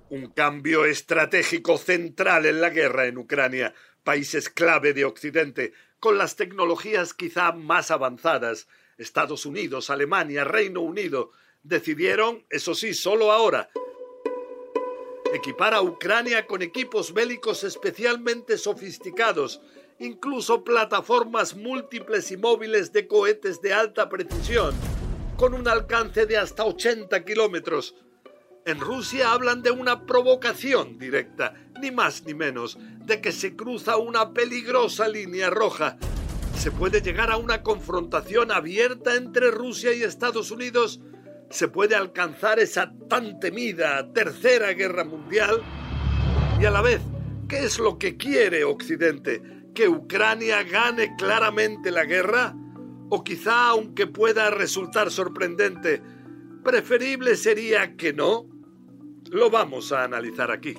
Un cambio estratégico central en la guerra en Ucrania. Países clave de Occidente, con las tecnologías quizá más avanzadas, Estados Unidos, Alemania, Reino Unido, decidieron, eso sí, solo ahora, equipar a Ucrania con equipos bélicos especialmente sofisticados, incluso plataformas múltiples y móviles de cohetes de alta precisión, con un alcance de hasta 80 kilómetros. En Rusia hablan de una provocación directa, ni más ni menos, de que se cruza una peligrosa línea roja. ¿Se puede llegar a una confrontación abierta entre Rusia y Estados Unidos? ¿Se puede alcanzar esa tan temida Tercera Guerra Mundial? Y a la vez, ¿qué es lo que quiere Occidente? ¿Que Ucrania gane claramente la guerra? O quizá, aunque pueda resultar sorprendente, preferible sería que no. Lo vamos a analizar aquí.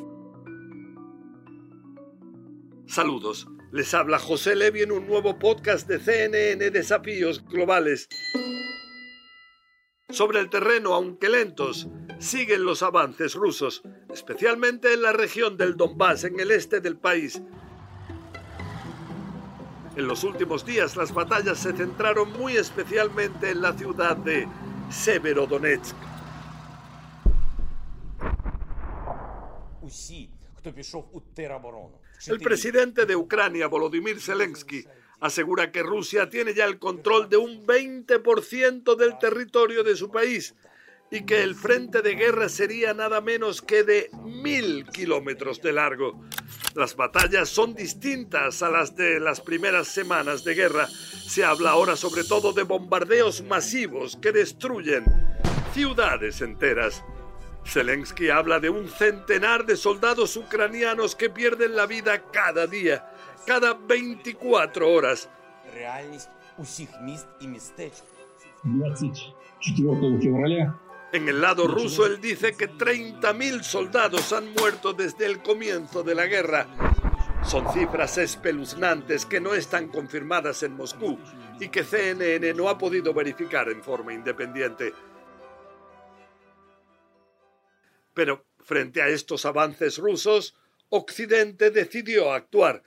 Saludos, les habla José Levi en un nuevo podcast de CNN Desafíos Globales. Sobre el terreno, aunque lentos, siguen los avances rusos, especialmente en la región del Donbass, en el este del país. En los últimos días, las batallas se centraron muy especialmente en la ciudad de Severodonetsk. El presidente de Ucrania, Volodymyr Zelensky, asegura que Rusia tiene ya el control de un 20% del territorio de su país y que el frente de guerra sería nada menos que de 1000 kilómetros de largo. Las batallas son distintas a las de las primeras semanas de guerra. Se habla ahora sobre todo de bombardeos masivos que destruyen ciudades enteras. Zelensky habla de un centenar de soldados ucranianos que pierden la vida cada día, cada 24 horas. En el lado ruso, él dice que 30.000 soldados han muerto desde el comienzo de la guerra. Son cifras espeluznantes que no están confirmadas en Moscú y que CNN no ha podido verificar en forma independiente. Pero frente a estos avances rusos, Occidente decidió actuar.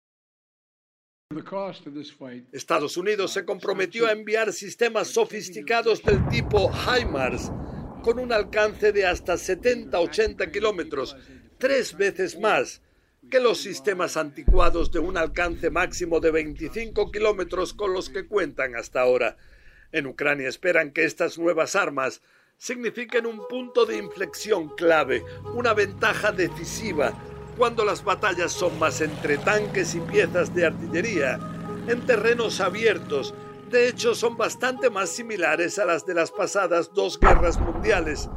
Estados Unidos se comprometió a enviar sistemas sofisticados del tipo HIMARS, con un alcance de hasta 70-80 kilómetros, 3 veces más que los sistemas anticuados de un alcance máximo de 25 kilómetros con los que cuentan hasta ahora. En Ucrania esperan que estas nuevas armas signifiquen un punto de inflexión clave, una ventaja decisiva, cuando las batallas son más entre tanques y piezas de artillería, en terrenos abiertos. De hecho, son bastante más similares a las de las pasadas 2 guerras mundiales.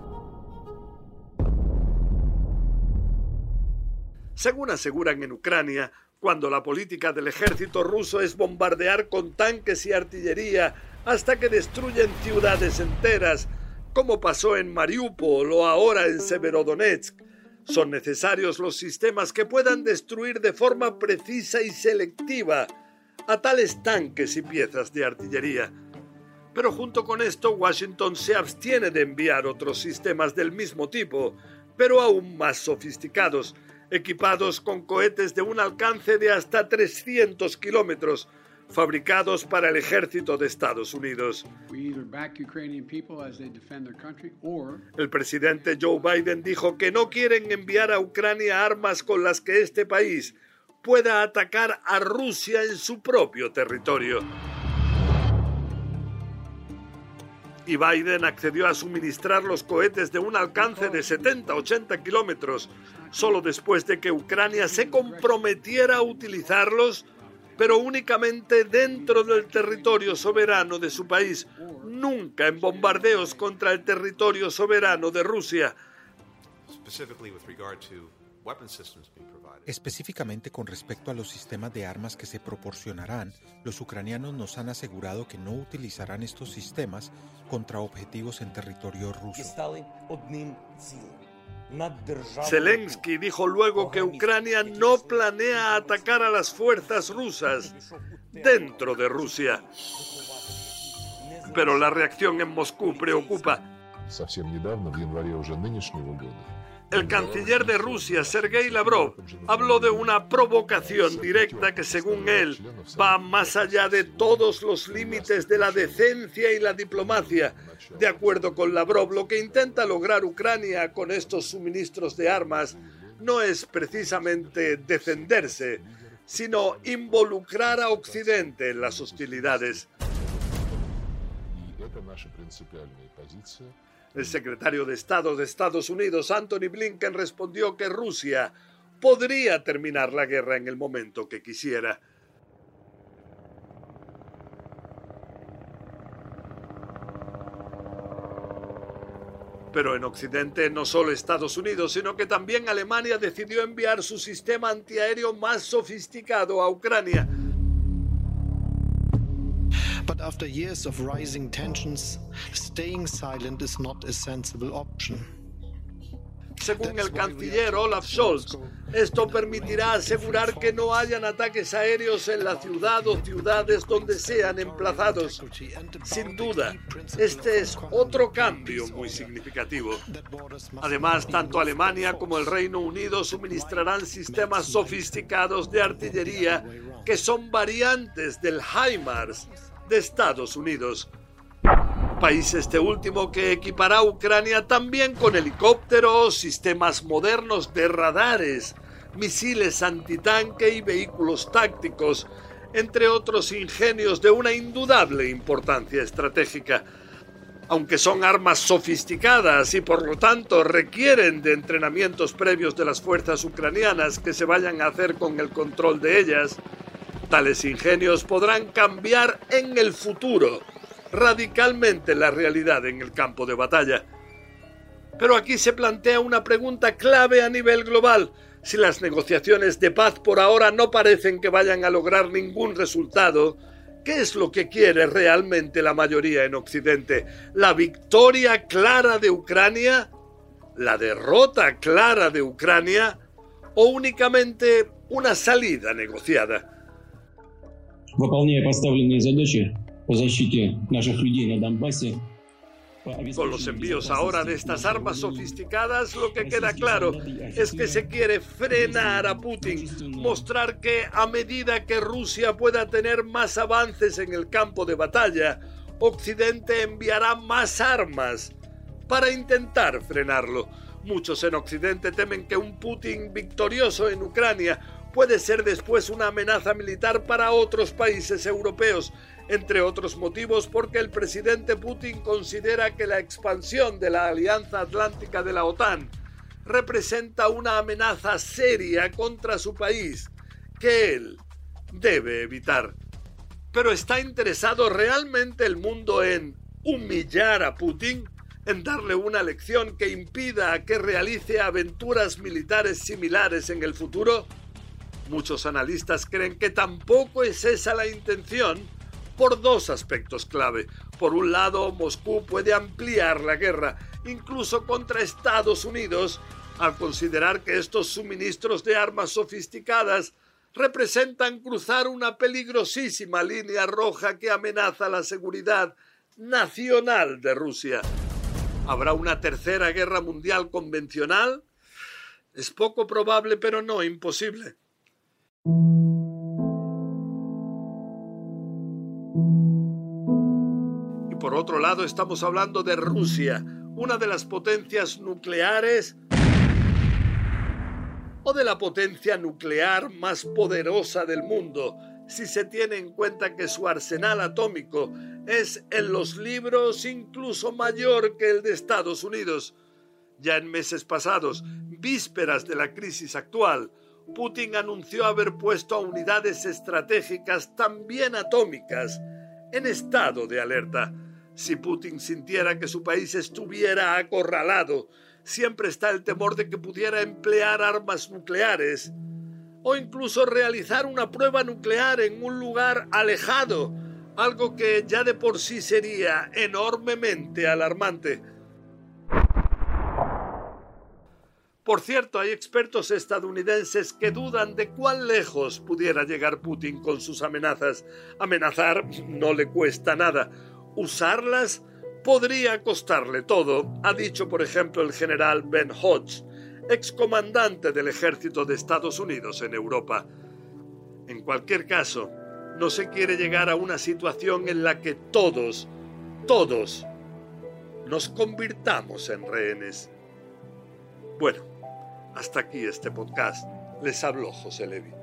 Según aseguran en Ucrania, cuando la política del ejército ruso es bombardear con tanques y artillería hasta que destruyen ciudades enteras, como pasó en Mariupol o ahora en Severodonetsk, son necesarios los sistemas que puedan destruir de forma precisa y selectiva a tales tanques y piezas de artillería. Pero junto con esto, Washington se abstiene de enviar otros sistemas del mismo tipo, pero aún más sofisticados, equipados con cohetes de un alcance de hasta 300 kilómetros, fabricados para el ejército de Estados Unidos. El presidente Joe Biden dijo que no quieren enviar a Ucrania armas con las que este país pueda atacar a Rusia en su propio territorio. Y Biden accedió a suministrar los cohetes de un alcance de 70-80 kilómetros, solo después de que Ucrania se comprometiera a utilizarlos, pero únicamente dentro del territorio soberano de su país, nunca en bombardeos contra el territorio soberano de Rusia. Específicamente con respecto a los sistemas de armas que se proporcionarán, los ucranianos nos han asegurado que no utilizarán estos sistemas contra objetivos en territorio ruso. Zelensky dijo luego que Ucrania no planea atacar a las fuerzas rusas dentro de Rusia. Pero la reacción en Moscú preocupa. El canciller de Rusia, Sergei Lavrov, habló de una provocación directa que, según él, va más allá de todos los límites de la decencia y la diplomacia. De acuerdo con Lavrov, lo que intenta lograr Ucrania con estos suministros de armas no es precisamente defenderse, sino involucrar a Occidente en las hostilidades. El secretario de Estado de Estados Unidos, Antony Blinken, respondió que Rusia podría terminar la guerra en el momento que quisiera. Pero en Occidente no solo Estados Unidos, sino que también Alemania decidió enviar su sistema antiaéreo más sofisticado a Ucrania. But after years of rising tensions, staying silent is not a sensible option. Según el canciller Olaf Scholz, esto permitirá asegurar que no hayan ataques aéreos en la ciudad o ciudades donde sean emplazados. Sin duda, este es otro cambio muy significativo. Además, tanto Alemania como el Reino Unido suministrarán sistemas sofisticados de artillería que son variantes del HIMARS de Estados Unidos. País este último que equipará a Ucrania también con helicópteros, sistemas modernos de radares, misiles antitanque y vehículos tácticos, entre otros ingenios de una indudable importancia estratégica. Aunque son armas sofisticadas y por lo tanto requieren de entrenamientos previos de las fuerzas ucranianas que se vayan a hacer con el control de ellas, tales ingenios podrán cambiar en el futuro radicalmente la realidad en el campo de batalla. Pero aquí se plantea una pregunta clave a nivel global. Si las negociaciones de paz por ahora no parecen que vayan a lograr ningún resultado, ¿qué es lo que quiere realmente la mayoría en Occidente? ¿La victoria clara de Ucrania? ¿La derrota clara de Ucrania? ¿O únicamente una salida negociada? Выполняя поставленные задачи по защите наших людей на Донбассе. Con los envíos ahora de estas armas sofisticadas, lo que queda claro es que se quiere frenar a Putin, mostrar que a medida que Rusia pueda tener más avances en el campo de batalla, Occidente enviará más armas para intentar frenarlo. Muchos en Occidente temen que un Putin victorioso en Ucrania puede ser después una amenaza militar para otros países europeos, entre otros motivos porque el presidente Putin considera que la expansión de la Alianza Atlántica de la OTAN representa una amenaza seria contra su país, que él debe evitar. Pero ¿está interesado realmente el mundo en humillar a Putin? ¿En darle una lección que impida que realice aventuras militares similares en el futuro? Muchos analistas creen que tampoco es esa la intención, por dos aspectos clave. Por un lado, Moscú puede ampliar la guerra, incluso contra Estados Unidos, al considerar que estos suministros de armas sofisticadas representan cruzar una peligrosísima línea roja que amenaza la seguridad nacional de Rusia. ¿Habrá una tercera guerra mundial convencional? Es poco probable, pero no imposible. Y por otro lado estamos hablando de Rusia, una de las potencias nucleares o de la potencia nuclear más poderosa del mundo, si se tiene en cuenta que su arsenal atómico es en los libros incluso mayor que el de Estados Unidos. Ya en meses pasados, vísperas de la crisis actual, Putin anunció haber puesto a unidades estratégicas también atómicas en estado de alerta. Si Putin sintiera que su país estuviera acorralado, siempre está el temor de que pudiera emplear armas nucleares o incluso realizar una prueba nuclear en un lugar alejado, algo que ya de por sí sería enormemente alarmante. Por cierto, hay expertos estadounidenses que dudan de cuán lejos pudiera llegar Putin con sus amenazas. Amenazar no le cuesta nada. Usarlas podría costarle todo, ha dicho por ejemplo el general Ben Hodge. excomandante del ejército de Estados Unidos en Europa. En cualquier caso, no se quiere llegar a una situación en la que todos nos convirtamos en rehenes. Bueno, hasta aquí este podcast. Les habló José Levi.